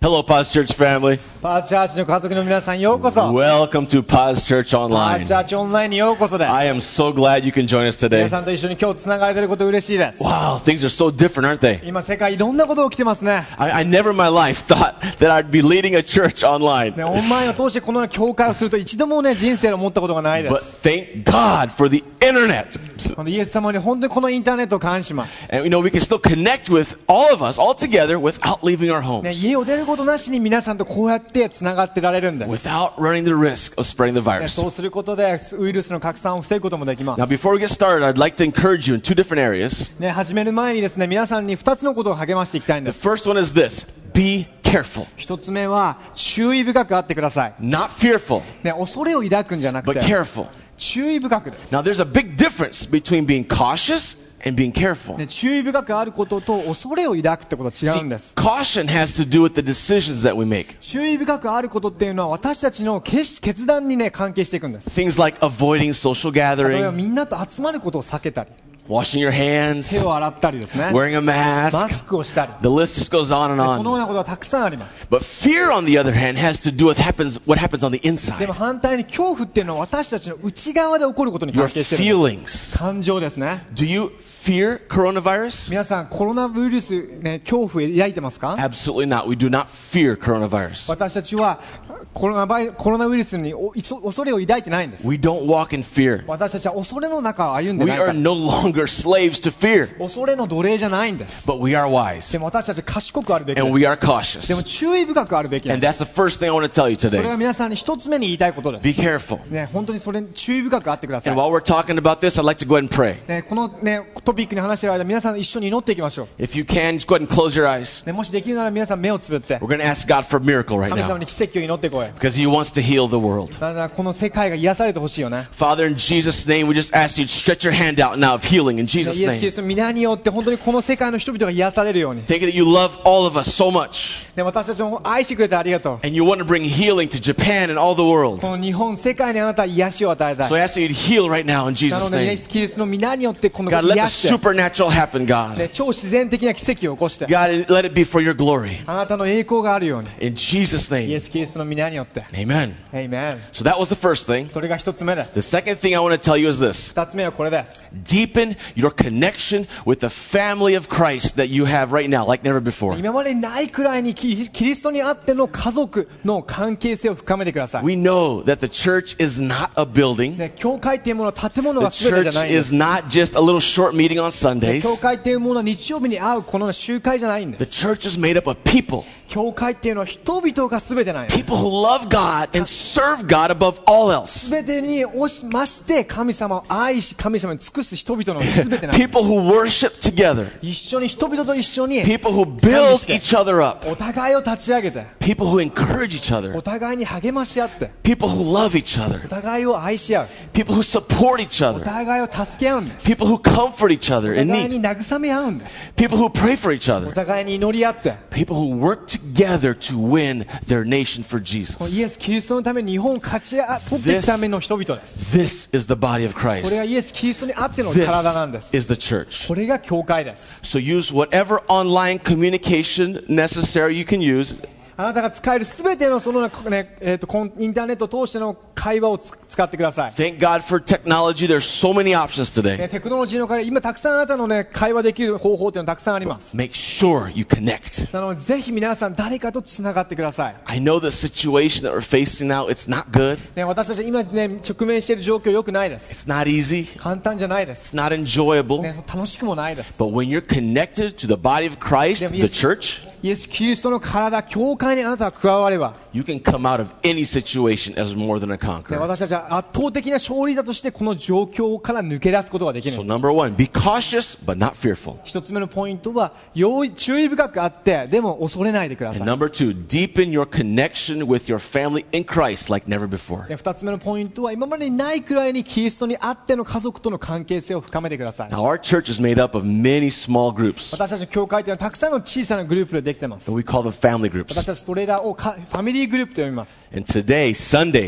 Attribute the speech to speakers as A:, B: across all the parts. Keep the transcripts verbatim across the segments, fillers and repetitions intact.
A: Hello, Paz Church family.
B: パーチャーチの家族の皆さんようこそ。
A: Welcome to Paz Church
B: パー
A: Online.
B: チャーチオンラインにようこそです。
A: I am so glad you can join us
B: 皆
A: today.
B: さんと一緒に今日つながれていること嬉しいです。
A: Wow, things are so different, aren't they?
B: 今世界いろんなこと起きてますね。
A: I, I never in my life thought that I'd be leading a church online.
B: ね、オンラインを通してこのような教会をすると一度もね人生で思ったことがないで
A: But
B: す。
A: thank God for the internet.
B: このイエス様に本当にこのインターネットを感謝します。
A: And you know, we can still connect with all of us, all together, without leaving our
B: ね、
A: homes.
B: 家を出ることなしに皆さんとこうやってつながってられるんです。
A: Without running the risk of spreading the
B: ね、
A: virus.
B: そうすることでウイルスの拡散を防ぐこともできます。
A: Now, before we get started, I'd like to encourage you in two different areas.
B: ね、始める前にですね皆さんにふたつのことを励ましていきたいん
A: The
B: です。
A: first one is this: be careful.
B: 一つ目は注意深くあってください。
A: Not fearful,
B: ね、恐れを抱くんじゃなく
A: but
B: て
A: careful.
B: 注意深くです。
A: Now, there's a big difference between being cautious and being careful.
B: ね、注意深くあることと恐れを抱くってことは違うんです。
A: Caution has to do with the decisions that we make.
B: 注意深くあることっていうのは私たちの決決断にね関係していくんです。
A: Things like avoiding social
B: 例えば
A: gathering,
B: みんなと集まることを避けたり、
A: washing your
B: 手
A: hands,
B: を洗ったりですね、
A: wearing a
B: マ
A: mask.
B: スクをしたり、
A: The list just goes on and
B: そのよう
A: on.
B: なことはたくさんあります。
A: But fear, on the other hand, has to do with happens, what happens on the
B: で
A: inside.
B: も反対に恐怖っていうのは私たちの内側で起こることに
A: Your
B: 関係しているんです。
A: feelings.
B: 感情ですね。
A: Do you fear coronavirus?
B: 皆さんコロナウイルス、ね、恐怖を抱いてますか？
A: Absolutely not. We do not fear coronavirus.
B: 私たちはコロナバイコロナウイルスにおいそ恐れを抱いてないんです。
A: We don't walk in fear.
B: 私たちは恐れの中を歩んで
A: We
B: ないか
A: are
B: ら。
A: no longer slaves to fear,
B: 恐れの奴隷じゃないんです。
A: but we are wise
B: でも私たちは賢くあるべきで
A: and we
B: す。
A: are
B: で
A: cautious.
B: も注意深くあるべきなん
A: And
B: で
A: that's the first thing I want to tell you
B: す。それ
A: today.
B: が皆さんに一つ目に言いたいことで
A: Be
B: す。
A: careful.
B: ね、本当にそれに注意深くあってください。
A: And while we're talking about this, I'd like to go ahead and pray.
B: ね、この、ね、トピックに話している間、皆さん一緒に祈っていきましょう。
A: If you can, just go ahead and close your eyes.
B: ね、もしできるなら皆さん目をつぶって
A: We're going to ask God for a miracle right
B: 神様
A: now
B: に奇跡を祈ってこい。
A: because He wants to heal the world.
B: だからこの世界が癒されてほしいよね。
A: Father, in Jesus' name, we just ask you to stretch your hand out now of healing in
B: ね
A: Jesus'
B: イエス・キ
A: name.
B: リストの皆によって本当にこの世界の人々が癒されるように。
A: Thank you that you love all of us so much
B: ね、私たちを愛してくれてありがとう。
A: and you want to bring healing to Japan and all the world.
B: この日本、世界にあなたは癒しを与えたい。
A: So I ask you to heal right now in
B: な
A: Jesus'
B: ので、イエ
A: name.
B: ス・キリストの皆によってこの
A: God, let the
B: 癒して、
A: supernatural happen, God.
B: ね、超自然的な奇跡を起こして、
A: God, let it be for your glory.
B: あなたの栄光があるように、
A: In Jesus'
B: イエ
A: name.
B: ス・キリストの皆によって。
A: Amen.
B: エイメン。
A: So that was the first thing.
B: それが一つ目で
A: The
B: す。
A: second thing I want to tell you is this.
B: 二つ目はこれです。
A: Deepen your connection with the family of Christ that you have right now, like never before.
B: 今までにないくらいにキキリストにあっての家族の関係性を深めてください。
A: We know that the church is not a building.
B: ね、教会っていうものは建物
A: The
B: が全てじゃ
A: church
B: ないんで
A: is
B: す。
A: not just a little short meeting on
B: ね
A: Sundays.
B: 教会っていうものは日曜日に会うこの集会じゃないんで
A: The
B: す。
A: church is made up of people.
B: 教会っていうのは人々が全てない。
A: People who love God and serve God above all else.
B: 全てに押しまして神様を愛し神様に尽くす人々の全てない。
A: People who worship together.
B: 一緒に人々と一緒に
A: People who build each other up.
B: お互いを立ち上げて
A: People who encourage each
B: お
A: other.
B: 互いに励まし合って
A: People who love each
B: お
A: other.
B: 互いを愛し合う
A: People who support each
B: お
A: other.
B: 互いを助け合うんです
A: People who comfort each other
B: お
A: in
B: 互いに
A: need.
B: 慰め合うんです
A: People who pray for each
B: お
A: other.
B: 互いに祈り合って
A: People who work together to win their nation for
B: イ
A: Jesus.
B: エス・キリストのために日本を勝ち取っていくための人々です
A: This is the body of
B: これ
A: Christ.
B: がイエス・キリストにあっての
A: This
B: 体なんです
A: is the church.
B: これが教会です
A: So use whatever online communication necessary you can use.
B: あなたが使えるすべてのその、ねえー、とコンインターネットを通しての会話をつ使ってください、
A: Thank God for technology. There's so many options
B: ね、
A: today.
B: テクノロジーのおかげで今たくさんあなたの、ね、会話できる方法というのはたくさんあります
A: Make sure you connect.
B: なのでぜひ皆さん誰かとつながってください、
A: I know the situation that we're facing now, it's not good.
B: ね、私たち今、ね、直面している状況良くないです
A: It's not easy.
B: 簡単じゃないです、
A: It's not enjoyable.
B: ね、楽しくもないです
A: But when you're connected to the body of Christ, the church,
B: イエス・キリストの体、教会にあなたが加われば、
A: you can come out of any situation as more than a
B: ね、
A: conqueror.
B: 私たちは圧倒的な勝利だとしてこの状況から抜け出すことができる
A: So number one, be cautious but not fearful.
B: 一つ目のポイントは要注意深くあってでも恐れないでくだ
A: And
B: さい
A: number two, deepen your connection with your family in Christ like never before.
B: で二つ目のポイントは今までにないくらいにキリストにあっての家族との関係性を深めてください
A: Now our church is made up of many small groups.
B: 私たちの教会というのはたくさんの小さなグループでできています
A: And we call them family
B: 私
A: groups.
B: たちそれらをかファミリーグループと呼びます
A: And today, Sunday, like every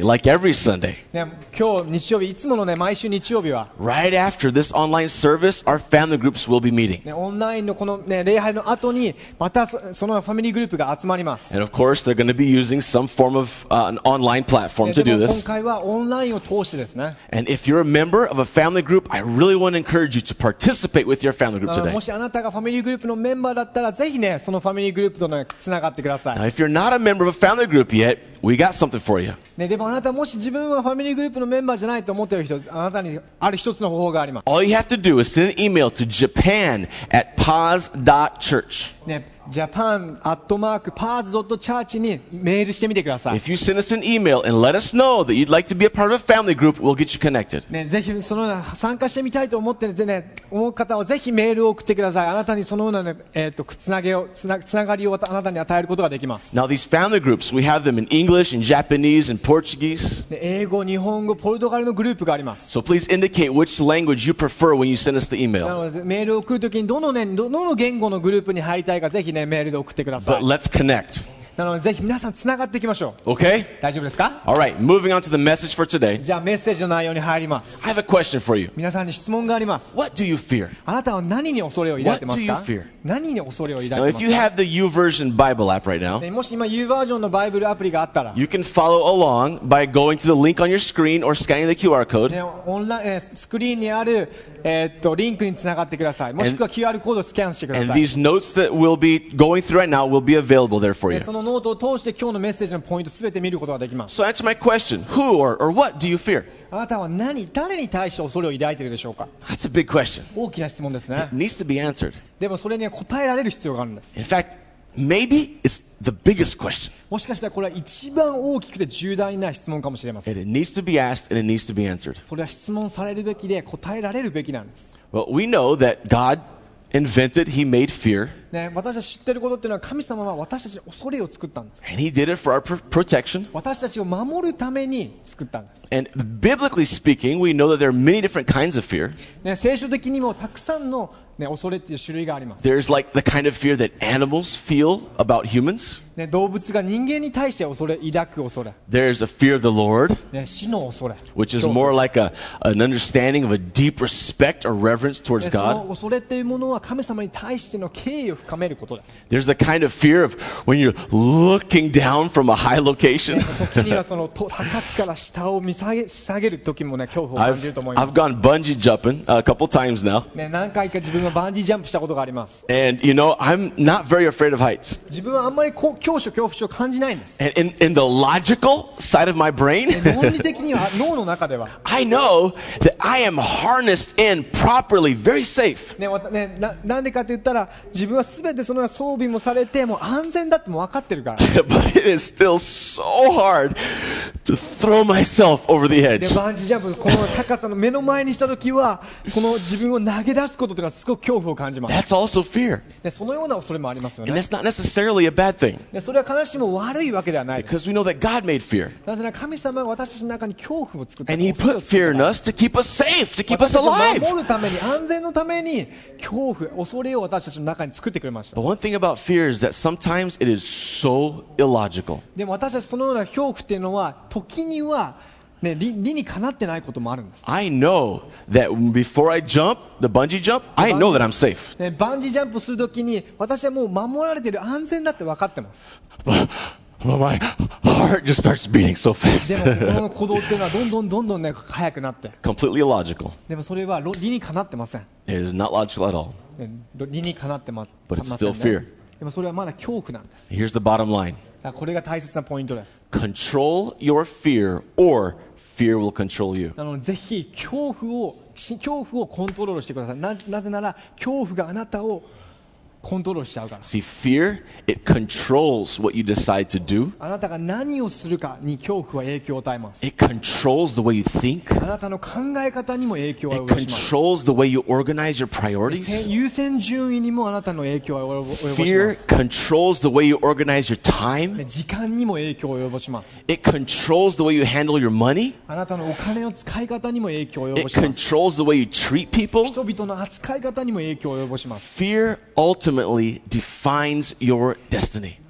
A: every Sunday,
B: ね、今日日曜日、いつものね、毎週日曜日は、
A: right after this online service, our family groups will be meeting.
B: ね、オンラインのこの、ね、礼拝の後に、またそそのファミリーグループが集まります。
A: And of course, they're going to be using some form of uh, an online platform
B: ね
A: to
B: で
A: do
B: も今
A: this.
B: 回はオンラインを通してですね、
A: And if you're a member of a family group, I really want to encourage you to participate with your family group
B: あの
A: today.
B: もしあなたがファミリーグループのメンバーだったら、ぜひね、そのファミリーグループとね、つながってください。
A: Now, if you're not a member of a family group yet, we got something for you.
B: ね、でもあなたもし自分はファミリーグループのメンバーじゃないと思っている人、あなたにある一つの方法があります。
A: All you have to do is send an email to japan at paz dot church.
B: ね、ジャパンアットマークパーズドットチャーチにメールしてみてください。
A: If you send us an email and let us know that you'd like to be a part of a family group, we'll get you connected.
B: ね、ぜひそのような参加してみたいと思ってる、ね、思う方はぜひメールを送ってください。あなたにそのような、ねえー、とつなげをつな、つながりをあなたに与えることができます。
A: Now, these family groups, we have them in English, in Japanese, and Portuguese.
B: ね、英語、日本語、ポルトガルのグループがあります。
A: So please indicate which language you prefer when you send us the
B: な
A: email.
B: のでメールを送るときにどの、ね、どの言語のグループに入りたいかぜひ、ね、メールで送ってください。
A: But let's connect.
B: なのでぜひ皆さんつながっていきましょう。
A: Okay?
B: 大丈夫ですか？
A: All right, moving on to the message for today.
B: じゃあメッセージの内容に入ります。
A: I have a question for you.
B: 皆さんに質問があります。
A: What do you fear?
B: あなたは何に恐れを抱いてますか？
A: What do you fear?
B: 何に恐れを抱いて
A: Now,
B: ま
A: if
B: す
A: you
B: か？
A: have the YouVersion Bible app right now,
B: ね、もし今 U バージョンのバイブルアプリがあったら、
A: you can follow along by going to the link on your screen or scanning the Q R code.
B: ね、オンラインえースクリーンにある、えーっとリンクにつながってください。もしくは キューアール コードをスキャンしてくだ
A: And
B: さい。
A: these notes that we'll be going through right now will be available there for
B: ね
A: you.
B: そのノートを通して今日のメッセージのポイントすべて見ることができます。
A: So answer my question. Who or, or what do you fear?
B: あなたは何、誰に対して恐れを抱いているでしょうか？
A: That's a big question.
B: 大きな質問ですね
A: It。needs to be answered.
B: でもそれには答えられる必要があるんです。
A: In fact, maybe it's the biggest question.
B: もしかしたらこれは一番大きくて重大な質問かもしれません。
A: And it needs to be asked and it needs to be answered.
B: それは質問されるべきで答えられるべきなんです。
A: Well, we know that God invented, He made fear,
B: ね、私たち知っていることっていうのは神様は私たちに恐れを作ったんです。
A: and He did it for our pr- protection.
B: 私たちを守るために作ったんです。
A: And biblically speaking, we know that there are many different kinds of fear.
B: ね、聖書的にもたくさんの、ね、恐れっていう種類があります。
A: There's like the kind of fear that animals feel about humans.
B: ね、動物が人間に対して恐れ、抱く恐れ、
A: There's a fear of the Lord,
B: ね、死の恐れ、
A: which is more like a, an understanding of a deep respect or reverence
B: ね
A: towards
B: その
A: God.
B: 恐れっていうものは神様に対しての敬意を深めることです。
A: There's the kind of fear of when you're looking down from a high location.
B: 時にはそのと高くから下を見下げ下げる時もね恐怖を感
A: I've,
B: じると思いま
A: I've
B: す。
A: gone bungee jumping a couple times now.
B: ね、何回か自分はバンジージャンプしたことがあります。
A: And, you know, I'm not very afraid of heights.
B: 自分はあんまりこう恐怖恐怖症を感じないんです。
A: And in, in the logical side of my brain,
B: ね論理的には脳の中では、
A: I know that I am harnessed in properly, very safe.
B: ねわたね、な, なんでかって言ったら自分は全てその装備もされてもう安全だってもう分かってるから。
A: But it is still so hard to throw myself over the
B: で
A: edge.
B: バンジージャンプこの高さの目の前にした時はその自分を投げ出すことというのはすごく恐怖を感じます。
A: That's also fear.
B: でそのような恐れもありますよ
A: And
B: ね。
A: that's not necessarily a bad thing
B: でそれは必ずしも悪いわけではないです。
A: because we know that God made fear.
B: なぜなら神様が私たちの中に恐怖を作った。
A: And He
B: 恐れ
A: put
B: を作った
A: fear in us to keep us safe, to keep
B: 私
A: us
B: たちを
A: alive.
B: 守るために安全のために恐怖恐れを私たちの中に作ってくれました。
A: But one thing about fear is that sometimes it is so illogical.
B: でも私たちそのような恐怖っていうのは時には、ね、理, 理にかなってないこともあるんです。
A: I know that before I jump, the bungee jump, I know that I'm safe.
B: ね、バンジージャンプするときに私はもう守られている安全だって分かってます。
A: But, but my heart just starts beating so
B: でもこ
A: fast.
B: の鼓動っていうのはどんどんどんどんね速くなって
A: Completely illogical.
B: でもそれはろ理にかなってません、
A: It is not logical at all.
B: ね、理にかなってま
A: But
B: ま
A: it's
B: せん
A: still fear.
B: ね。でもそれはまだ恐怖なんです。
A: Here's the bottom line.
B: だからこれが大切なポイントです。
A: Control your fear or fear will control you.
B: なのでぜひ恐怖を恐怖をコントロールしてください。 な, なぜなら恐怖があなたをコントロールしちゃうから。
A: See, fear, it controls what you decide to do.
B: あなたが何をするかに恐怖は影響を与えます。
A: It controls the way you think.
B: あなたの考え方にも影響を
A: It
B: 及ぼします。
A: controls the way you organize your priorities.
B: 優先順位にもあなたの影響を及ぼ及ぼしま
A: Fear
B: す。
A: controls the way you organize your time.
B: 時間にも影響を及ぼします。
A: It controls the way you handle your money.
B: あなたのお金の使い方にも影響を及
A: It
B: ぼします。
A: controls the way you treat people.
B: 人々の扱い方にも影響を及ぼします。
A: Fear ultimately defines your destiny.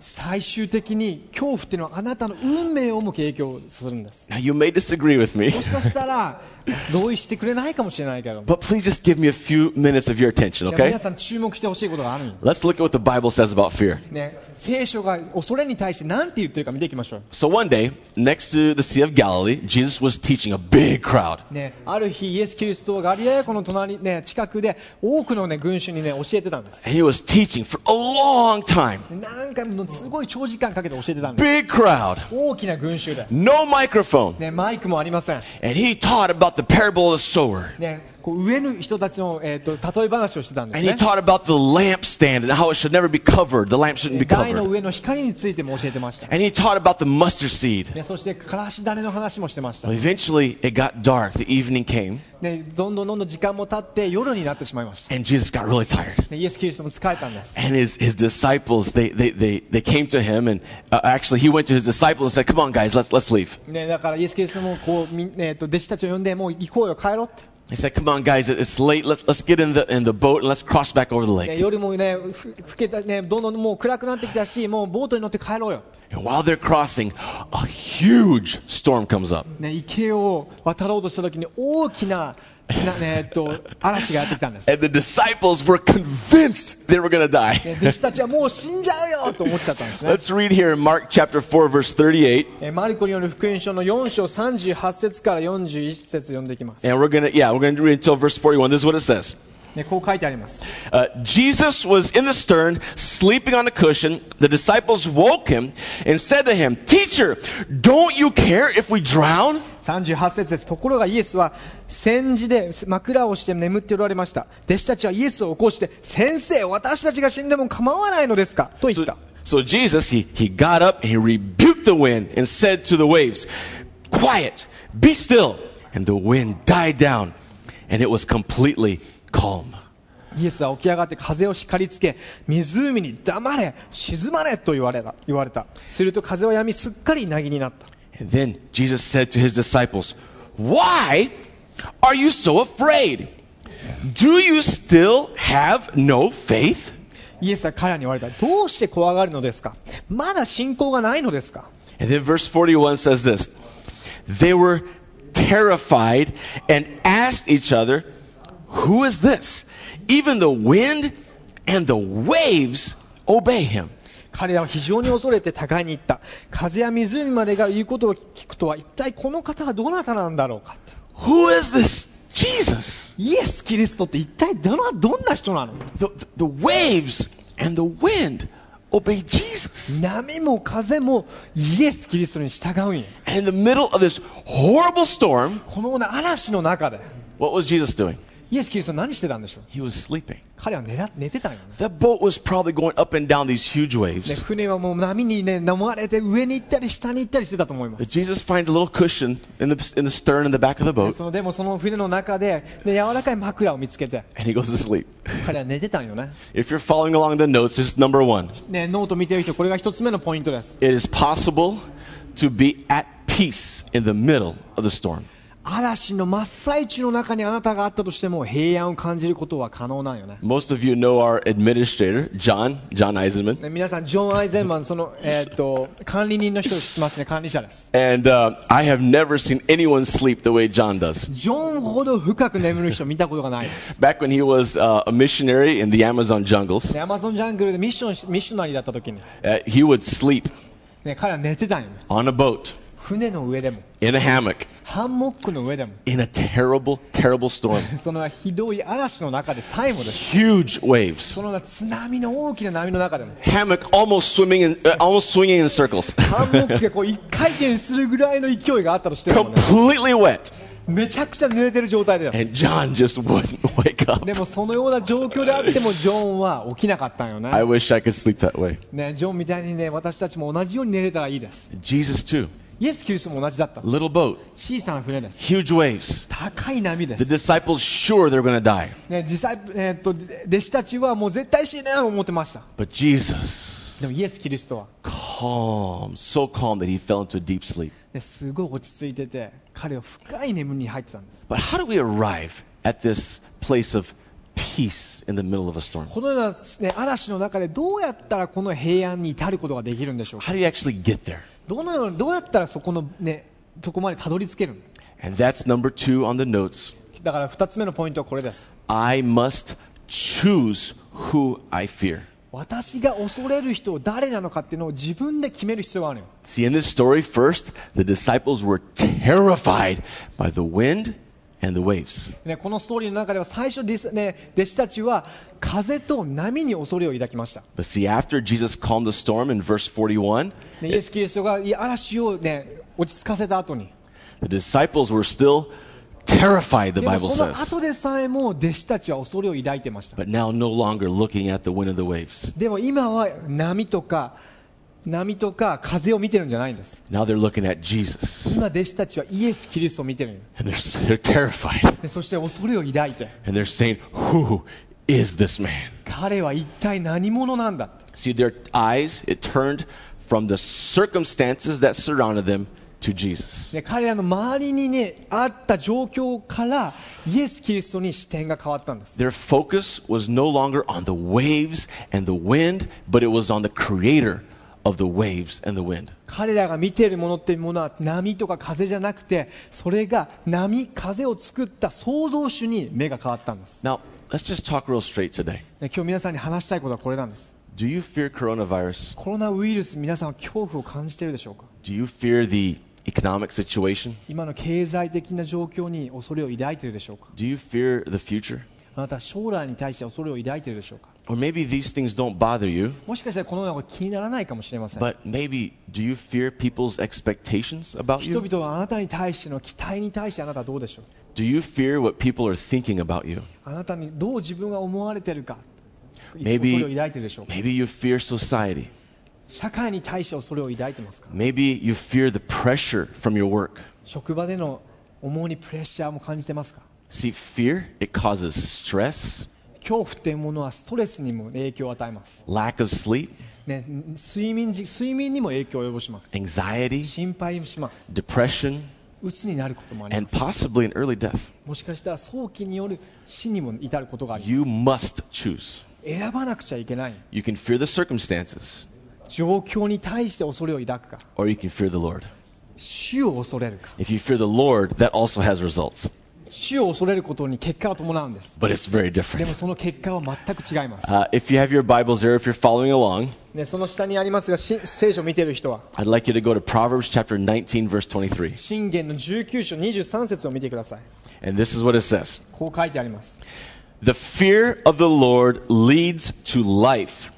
B: 最終的に恐怖っていうのはあなたの運命をも影響するんです。
A: Now, you may disagree with me,
B: もしかしたら同意してくれないかもしれないけど、
A: but please just give me a few minutes of your attention,
B: いや
A: okay?
B: 皆さん注目してほしいことがあるんよ、
A: Let's look at what the Bible says about fear.
B: ね、聖書が恐れに対して何て言ってるか見ていきましょう。
A: So one day, next to the Sea of Galilee, Jesus was teaching a big crowd.
B: ね、ある日イエス・キリストはガリラヤ湖の隣、ね、近くで多くの、ね、群衆に、ね、教えてたんです。
A: And he was teaching for a long time.
B: 何回もすごい長時間かけて教えてたんです。
A: Big crowd.
B: 大きな群衆です、
A: No microphone.
B: ね、マイクもありません、
A: And he taught about the parable of the sower.
B: ね、こう植える人たちの、えー、と例え話をしてたんです
A: And he
B: ね。
A: taught about the lampstand and how it should never be covered. The lamp shouldn't be
B: 台の
A: covered.
B: 上の光についても教えてました、
A: And he taught about the mustard seed.
B: ね、そしてからし種の話もしてました、
A: Well, eventually, it got dark. The evening came.
B: ね、どんどんどんどん時間も経って夜になってしまいました、
A: And Jesus got really tired.
B: ね、イエス・キリストも疲れたんです、
A: And his, his disciples, they, they, they, they came to him. And uh, actually, he went to his disciples and said, come on, guys, let's, let's leave.
B: ね、だからイエス・キリストもこうみ、えー、と弟子たちを呼んでもう行こうよ帰ろうって、
A: He said, come on, guys, it's late. Let's, let's get in the, in the boat and let's cross back over the
B: ね、
A: lake.
B: 夜もねふふけた、ね、どんどんもう暗くなってきたしもうボートに乗って帰ろうよ、
A: And while they're crossing, a huge storm comes up.
B: ね、池を渡ろうとした時に大きな、なねえっと、嵐がやってきたんです、
A: And the disciples were convinced they were going to die.
B: ね、弟子たちはもう死んじゃうよと思っちゃったんですね。
A: Let's read here in Mark chapter four, verse thirty-eight.
B: えーマルコによる福音書のよん章さんじゅうはち節からよんじゅういち節読んでいきます、
A: And we're going to, yeah, we're going to read until verse forty-one. This is what it says.
B: ね、こう書いてあります、
A: Uh, Jesus was in the stern, sleeping on a cushion. The disciples woke him and said to him, Teacher, don't you care if we drown?
B: さんじゅうはち節です。ところがイエスは戦時で枕をして眠っておられました。弟子たちはイエスを起こして、先生、私たちが死んでも構わないのですかと言った。
A: So, so Jesus, he, he got up and he rebuked the wind and said to the waves, Quiet, be still. And the wind died down and it was completely calm.
B: イエスは起き上がって風を叱りつけ、湖に黙れ、静まれと言われた。言われた。すると風は止み、すっかり凪になった。
A: And then Jesus said to his disciples, Why are you so afraid? Do you still have no faith?
B: イエスは彼らに言われた。どうして怖がるのですか？まだ信仰がないのですか？
A: And then verse forty-one says this. They were terrified and asked each other, Who is this? Even the wind and the waves obey him.
B: 彼らは非常に恐れて互いに言った。風や湖までが言うことを聞くとは一体この方はどなたなんだろうかって。
A: Who is this Jesus?
B: イエス・キリストって一体どのどんな人なの？
A: The, the waves and the wind obey Jesus.
B: 波も風もイエス・キリストに従うんよ。
A: And in the middle of this horrible storm,
B: この嵐の中で
A: what was Jesus doing?
B: イエス・キリスト何してたんでしょう？
A: He was sleeping.
B: 彼は 寝ら寝てたんよね。
A: The boat was probably going up and down these huge
B: ね
A: waves.
B: 船はもう波にね飲まれて上に行ったり下に行ったりしてたと思います。
A: Jesus finds a little cushion in the, in the stern in the back of the
B: で
A: boat,
B: そのでもその船の中で、ね、柔らかい枕を見つけて
A: and he goes to sleep.
B: 彼は寝てたんよね。
A: If you're following along the notes, this is number one.
B: ね、ノート見てる人、これが一つ目のポイントです。
A: It is possible to be at peace in the middle of the storm.
B: 嵐の真っ最中の中にあなたがあったとしても平安を感じることは可能なんよね。
A: Most of you know our administrator, John, John Eisenman.
B: ね皆さん、ジョン・アイゼンマン、その、えー、と管理人の人を知ってますね、管理者です。
A: And uh, I have never seen anyone sleep the way John does.
B: ジョンほど深く眠る人見たことがないです。
A: Back when he was uh, a missionary in the Amazon jungles,
B: ねアマゾンジャングルでミッションミッショナリーだった時に、
A: uh, he would sleep
B: ね、彼は寝てたんよね。
A: on a boat,
B: 船の上でも、
A: in a hammock,
B: ハンモックの上でも、
A: in a terrible, terrible storm.
B: そのひどい嵐の中でさえもです。
A: Huge waves.
B: その津波の大きな波の中でも、
A: Hammock almost swimming in, uh, almost swinging in circles.
B: ハンモックがこう一回転するぐらいの勢いがあったとしてもね、
A: Completely wet.
B: めちゃくちゃ濡れてる状態でです。
A: And John just wouldn't wake up.
B: でもそのような状況であってもジョンは起きなかったんよね。
A: I wish I could sleep that way.
B: ね、ジョンみたいにね、私たちも同じように寝れたらいいです。
A: Jesus too.
B: イエス・キリストも同じだった。
A: Little boat,
B: 小さな船です。
A: huge waves.
B: 高い波で
A: The
B: す。
A: disciples sure they're going to die.
B: ね、実際、えーっと弟子たちはもう絶対死ねと思ってました。
A: But Jesus,
B: でもイエス・キリストは、
A: calm, so calm that he fell into a deep sleep.
B: ね、すごい落ち着いてて、彼は深い眠りに入ってたんです。
A: But how do we arrive at this place of peace in the middle of a storm?
B: このような、ね、嵐の中でどうやったらこの平安に至ることができるんでしょうか。
A: How do you actually get there?
B: どのようにどうやったらそこのねとこまでたどり着けるの。
A: And that's number two on the notes.
B: だからふたつめのポイントはこれです。
A: I must choose who I fear.
B: 私が恐れる人を誰なのかっていうのを自分で決める必要があるよ。
A: See, in this story, first, the disciples were terrified by the wind and the waves.
B: ね、このストーリーの中では最初です、ね、弟子たちは風と波に恐れを抱きました。
A: But see, after Jesus calmed the storm in verse forty-one,
B: ね、イエス・キリストが嵐を、ね、落ち着かせた後に、
A: the disciples were still terrified, the
B: でも
A: Bible
B: その
A: says.
B: 後でさえも弟子たちは恐れを抱いてました。
A: But now no longer looking at the wind and the waves.
B: でも今は波とか波とか風を見てるんじゃないんです。
A: Now they're looking at Jesus.
B: 今弟子たちはイエス・キリストを見てるん
A: And they're, they're terrified.
B: でそして恐れを抱いて、
A: And they're saying, who is this man?
B: 彼は一体何者なんだって。
A: See, their eyes, it turned from the circumstances that surrounded them to Jesus.
B: ね、彼らの周りに、ね、あった状況からイエス・キリストに視点が変わったんです。
A: Their focus was no longer on the waves and the wind, but it was on the creator of the waves and the wind.
B: 彼らが見ているものっていうものは波とか風じゃなくて、それが波、風を作った創造主に目が変わったんです。
A: Now, let's just talk real straight today.
B: ね、今日皆さんに話したいことはこれなんです。
A: Do you fear coronavirus?
B: コロナウイルス、皆さんは恐怖を感じているでしょうか。
A: Do you fear the economic situation?
B: 今の経済的な状況に恐れを抱いているでしょうか。
A: Do you fear the future?
B: あなたは将来に対して恐れを抱いているでしょうか。
A: Or maybe these things don't bother you,
B: もしかしたらこのようなこと気にならないかもしれません。
A: but maybe do you fear people's expectations about
B: 人
A: you?
B: 々はあなたに対しての期待に対してあなたはどうでしょう。
A: Do you fear what people are thinking about you?
B: あなたにどう自分が思われているか、
A: Maybe-
B: 恐れを抱いているでしょうか。
A: Maybe you fear society.
B: 社会に対して恐れを抱いていますか。
A: Maybe you fear the pressure from your work.
B: 職場での重荷、プレッシャーも感じてますか。
A: See, fear, it causes stress,
B: 恐怖っていうものはストレスにも影響を与えます、
A: lack of sleep,
B: ね、睡眠時睡眠にも影響を及ぼします。
A: anxiety,
B: 心配します。
A: depression,
B: 鬱になることもあり
A: and
B: ます。
A: possibly an early death.
B: もしかしたら早期による死にも至ることがあり
A: You
B: ます。
A: must choose.
B: 選ばなくちゃいけない。
A: You can fear the circumstances,
B: 状況に対して恐れを抱くか、
A: or you can fear the Lord.
B: 主を恐れるか。
A: If you fear the Lord, that also has results,
B: 主を恐れることに結果を伴うんです。
A: but it's very
B: でも
A: different.
B: その結果は全く違います。
A: Uh, if you have your Bibles there, if you're following along,
B: ね、その下にありますが、し聖書を見ている人は
A: I'd like you to go to Proverbs chapter nineteen, verse twenty-three.
B: 箴言のじゅうきゅう章にじゅうさん節を見てください。
A: And this is what it says.
B: こう書いてあります。
A: The fear of the Lord leads to life.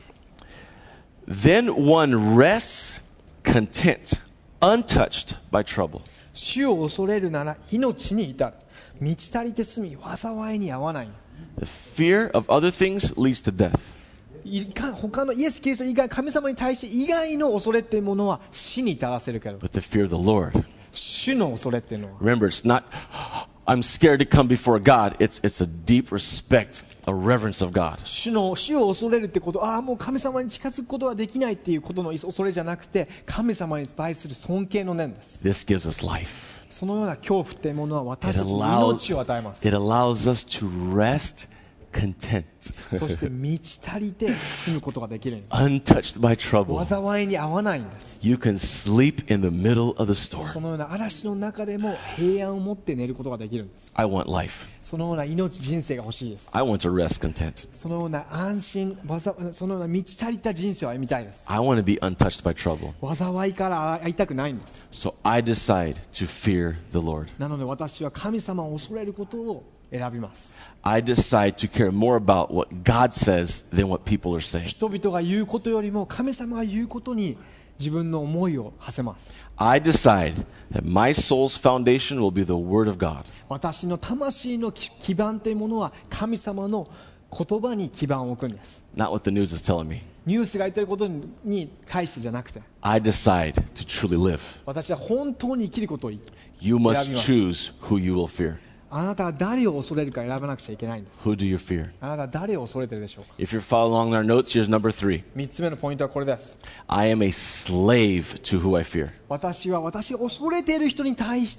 A: Then one rests content, untouched by trouble.
B: 主を恐れるなら命に至る。満ち足りて住み、災いに合わない。
A: The fear of other things leads to death.
B: いか他のイエス・キリスト以外、神様に対して以外の恐れっていうものは死に至らせるけど、
A: But the fear of the Lord,
B: 主の恐れっていうのは
A: remember, it's not, I'm scared to come before God. It's, it's a deep respect, a reverence of God.
B: 主の主を恐れるってこと、ああもう神様に近づくことはできないっていうことの恐れじゃなくて、神様に対する尊敬の念です。
A: This gives us life.
B: そのような恐怖っていうものは私
A: It
B: たちに
A: allows,
B: 命を与えます。
A: it allows us to rest content,
B: そして満ち足りて住むことができるんです。
A: untouched by trouble.
B: 災いに合わないんです。
A: You can sleep in the middle of the
B: そ
A: storm.
B: のような嵐の中でも平安を持って寝ることができるんです。
A: I want life.
B: そのような命、人生が欲しいです。
A: I want to rest content.
B: そのような安心、災そのような満ち足りた人生を歩みたいです。
A: I want to be untouched by trouble.
B: 災いから会いたくないんです。
A: So I decide to fear the Lord.
B: なので私は神様を恐れることを選びます。
A: I decide to care more about what God says than what people are saying.
B: 人々が言うことよりも神様が言うことに自分の思いを馳せます。
A: I decide that my soul's foundation will be the Word of God.
B: 私の魂の基基盤というものは神様の言葉に基盤を置くんです。
A: Not what the news is telling me.
B: ニュースが言ってることに対してじゃなくて、
A: I decide to truly live.
B: 私は本当に生きることを
A: You must
B: 選びます。
A: choose who you will fear.
B: あなたは誰を恐れるか選ばなくちゃいけないんです。
A: Who do you fear?
B: あなたは誰を恐れてるでしょうか。
A: If you're following along our notes, here's number three.
B: みっつめのポイントはこれです。
A: I am a slave to who I fear.
B: 私は私が恐れている人に対して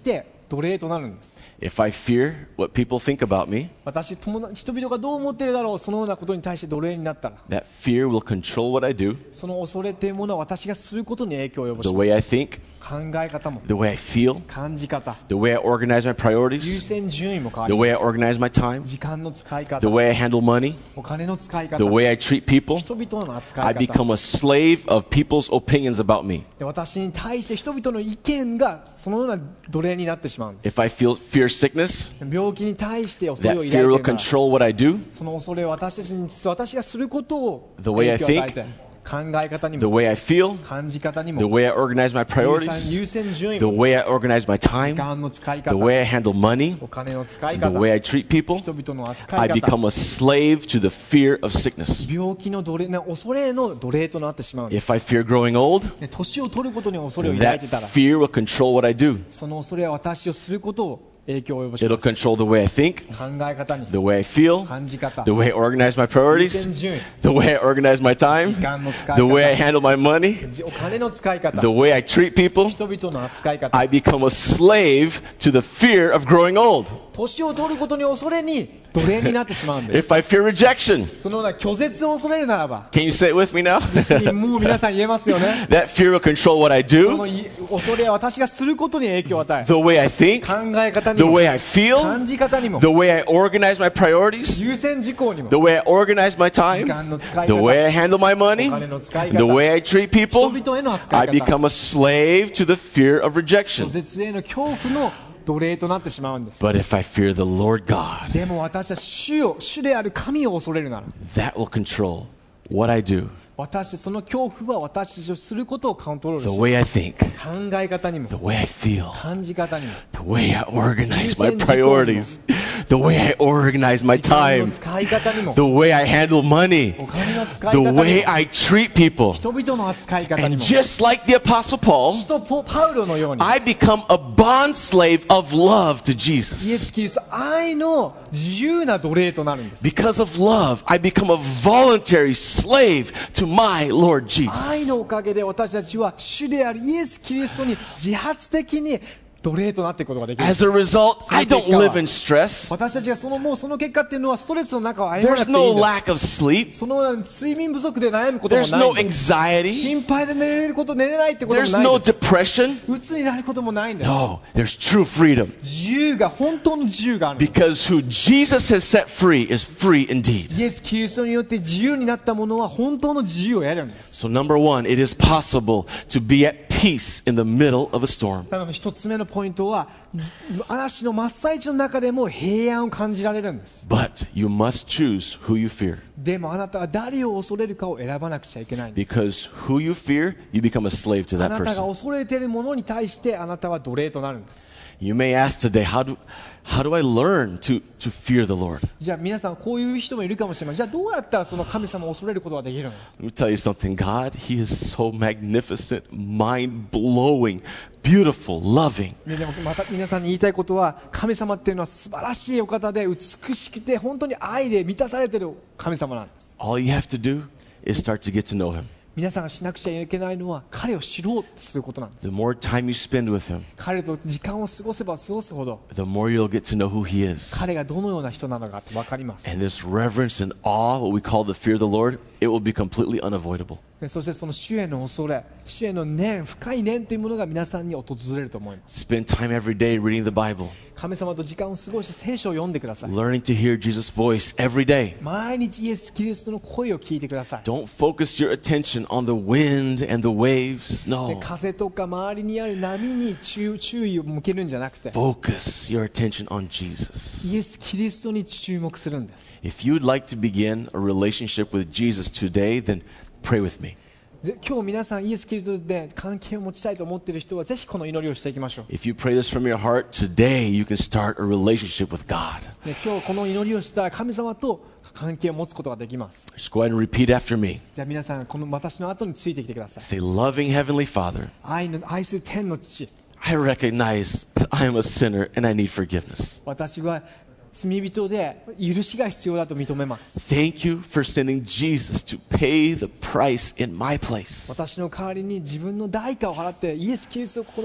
B: 奴隷となるんです。
A: If I fear what people think about me,
B: 私、友達人々がどう思っているだろう、そのようなことに対して奴隷になったら、
A: that fear will control what I do,
B: その恐れというものは私がすることに影響を及ぼ
A: the
B: し
A: way
B: ま
A: I
B: す。
A: think,
B: 考え方も
A: the way I feel,
B: 感じ方、
A: the way I organize my
B: 優
A: priorities,
B: 先順位も変わ
A: the
B: り
A: way
B: ま
A: I
B: す。
A: organize my time,
B: 時間の使い方、
A: the way I handle money,
B: お金の使い方、
A: the way I treat people.
B: 人々の扱
A: I
B: い方
A: become a slave of people's opinions about me.
B: で、私に対して人々の意見がそのような奴隷になってしまうんです。
A: If I feel fear sickness,
B: 病気に対して恐れ
A: that
B: を抱いて
A: fear
B: い
A: will
B: るなら、
A: control what I do,
B: その恐れを私たちに私がすることを
A: The way I
B: 影響を与えて、考え方に
A: the
B: も
A: way I feel,
B: 感じ方に
A: the
B: も
A: way I organize my
B: 優先
A: priorities,
B: 優先順位
A: the
B: も
A: way I organize my
B: 時
A: time,
B: 間の使い
A: the
B: 方、
A: way I handle money,
B: お金の使い
A: the
B: 方、
A: way I treat people.
B: 人々の扱
A: I
B: い方、
A: become a slave to the fear of sickness.
B: 病気の奴隷な恐れの奴隷となってしまうんです。
A: If I fear growing old,
B: で、年を取ることに恐れを抱い
A: that
B: てたら、
A: fear will control what I do.
B: その恐れは私をすることを影響を及ぼし
A: It'll
B: ます。
A: control the way I think,
B: 考え方に、
A: the way I feel,
B: 感じ方、
A: the way I organize my
B: 優
A: priorities,
B: 先順位、
A: the way I organize my time,
B: 時間の使い
A: the way I
B: 方、
A: handle my money,
B: お金の使い方、
A: the way I treat people.
B: 人々の扱い方、
A: I become a slave to the fear of growing old.
B: 年を取ることに恐れに奴隷になってしまうんです。
A: If I fear rejection,
B: そのような拒絶を恐れるならば、
A: can you say it with me now?
B: もう皆さん言えますよね。
A: That fear will control what I
B: そ
A: do,
B: のい恐れは私がすることに影響を与え、
A: the way I think,
B: 考え方に
A: the
B: も、
A: way I feel,
B: 感じ方にも、
A: the way I organize my priorities,
B: 優先事項にも、
A: the way I organize my
B: 時
A: time,
B: 間の使い
A: the
B: 方、
A: way I handle my
B: お
A: money,
B: 金の使い
A: the
B: 方、
A: way I treat
B: 人
A: people.
B: 々への扱
A: I
B: い方、
A: become a slave to the fear of
B: 拒
A: rejection.
B: 絶への恐怖の奴隷となってしまうんです。
A: But if I fear the Lord God,
B: でも私は主を、主である神を恐れるなら、
A: that will control what I do,
B: 私その恐怖は私たちをすることをコントロール
A: the
B: し、
A: way I think,
B: 考え方にも
A: the way I feel,
B: 感じ方にも
A: the way I organize my priorities, the way I organize my
B: 時間の
A: time,
B: 使い方にも
A: the way I handle money,
B: お金の使い
A: the
B: 方にも
A: way I treat people.
B: 人々の扱い方に
A: And
B: も
A: just like the Apostle Paul,
B: 使徒ポパウロのように
A: I become a bond slave of love to
B: イエ
A: Jesus.
B: ス・キリスト愛の自由な奴隷となるんです。
A: Because of love, I become a voluntary slave to my Lord
B: 愛
A: Jesus.
B: のおかげで私たちは主であるイエス・キリストに自発的に奴隷となっていくことができる。
A: As a result, I don't live in stress.
B: 私たちがそのもうその結果っていうのはストレスの中を歩まな
A: There's
B: くていい
A: no
B: んです。
A: lack of sleep.
B: その睡眠不足で悩むことも
A: There's
B: ない
A: no
B: んです。
A: anxiety.
B: 心配で寝れること寝れないってことも
A: There's
B: ない
A: no
B: んです。
A: depression.
B: 鬱になることもないんです。
A: No, there's true freedom.
B: 自由が本当の自由があるんです。
A: Because who Jesus has set free is free indeed.
B: イエス・キリストによって自由になったものは本当の自由を得るんです。
A: So number one, it is possible to be at peace in the middle of a storm.
B: なので一つ目のポイントはじ嵐の真っ最中の中でも平安を感じられるんです。
A: But you must choose who you fear.
B: でもあなたは誰を恐れるかを選ばなくちゃいけないんです。
A: Because who you fear, you become a slave to
B: あ
A: that
B: なたが
A: person.
B: 恐れているものに対してあなたは奴隷となるんです。
A: You may ask today, how do, how do I learn to, to fear the Lord?
B: じゃあ皆さんこういう人もいるかもしれません。じゃあどうやったらその神様を恐れることができるの？
A: Let me tell you something. God, He is so magnificent, mind-blowing, beautiful, loving.
B: ね、でもまた皆さんに言いたいことは神様っていうのは素晴らしいお方で美しくて本当に愛で満たされている神様なんです。
A: All you have to do is start to get to know Him.
B: 皆さんがしなくちゃいけないのは彼を知ろうとすることなんです。
A: The more time you spend with Him,
B: 彼と時間を過ごせば過ごすほど
A: the more you'll get to know who He is.
B: 彼がどのような人なのかって分かります。
A: And this reverence and awe, what we call the fear of the Lord, it will be completely unavoidable.
B: でそしてその主への恐れ、主への念、深い念というものが皆さんに訪れると思います。
A: Spend time every day reading the Bible,
B: 神様と時間を過ごし聖書を読んでください。
A: learning to hear Jesus' voice every day.
B: 毎日イエス・キリストの声を聞いてください。
A: Don't focus your attention on the wind and the waves.
B: で
A: No.
B: 風とか周りにある波に注注意を向けるんじゃなくて
A: Focus your attention on Jesus.
B: イエス・キリストに注目するんです。
A: If you'd like to begin a relationship with Jesus today, then pray with me.
B: ぜ今日皆さんイエス・キリストで関係を持ちたいと思っている人はぜひこの祈りをしていきましょう。
A: If you pray this from your heart, today you can start a relationship with God.
B: で今日この祈りをしたら神様と関係を持つことができます。
A: Just go ahead and repeat after me.
B: じゃあ皆さんこの私の後についてきてください。
A: Say, loving Heavenly Father,
B: 愛の愛する天の父、
A: I recognize that I am a sinner and I need forgiveness.
B: 私は罪人で許しが必要だと認めます。
A: Thank you for sending Jesus to pay the price in my place.
B: 私の代わりに自分の代価を払ってイエス・キリストをこの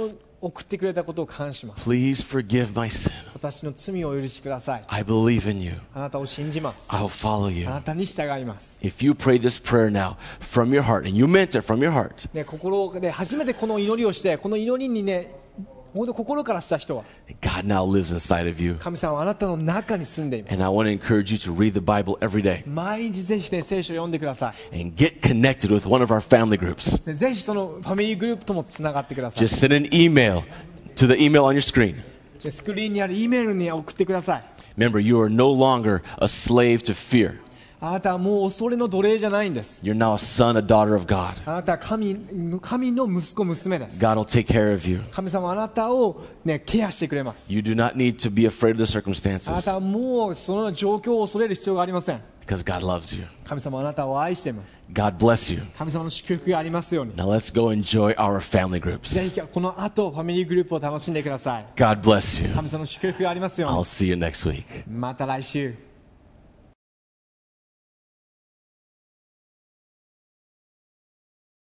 B: 送ってくれたことを感謝します。
A: Please forgive my sin.
B: 私の罪をお許しください。
A: I believe in you.
B: あなたを信じます。
A: I'll follow
B: あ
A: you.
B: なたに従います。
A: If you pray this prayer now from your heart, and you meant it from your heart,
B: ね、心で初めてこの祈りをして、この祈りにね、本当心からした人は、
A: God now lives inside of you.
B: 神様はあなたの中に住んでいます。
A: And I want to encourage you to read the Bible every day
B: 毎日ぜひね、聖書を読んでください。
A: and get connected with one of our family groups.
B: ね、ぜひそのファミリーグループともつながってください。
A: Just send an email to the email on your screen.
B: でスクリーンにある E メールに送ってください。
A: Remember, you are no longer a slave to fear.
B: あなたはもう恐れの奴隷じゃないんです。
A: You're now a son, a daughter of God.
B: あなたは神、神の息子、娘です。
A: God will take care of you.
B: 神様はあなたを、ね、ケアしてくれます。
A: You do not need to be afraid of the
B: あな
A: circumstances
B: たはもうその状況を恐れる必要がありません。
A: because God loves you.
B: 神様はあなたを愛しています。
A: God bless you.
B: 神様の祝福がありますように。
A: Now let's go enjoy our family
B: ぜ
A: groups.
B: ひこの後ファミリーグループを楽しんでください。
A: God bless you.
B: 神様の祝福がありますよう
A: I'll
B: に。
A: see you next week.
B: また来週。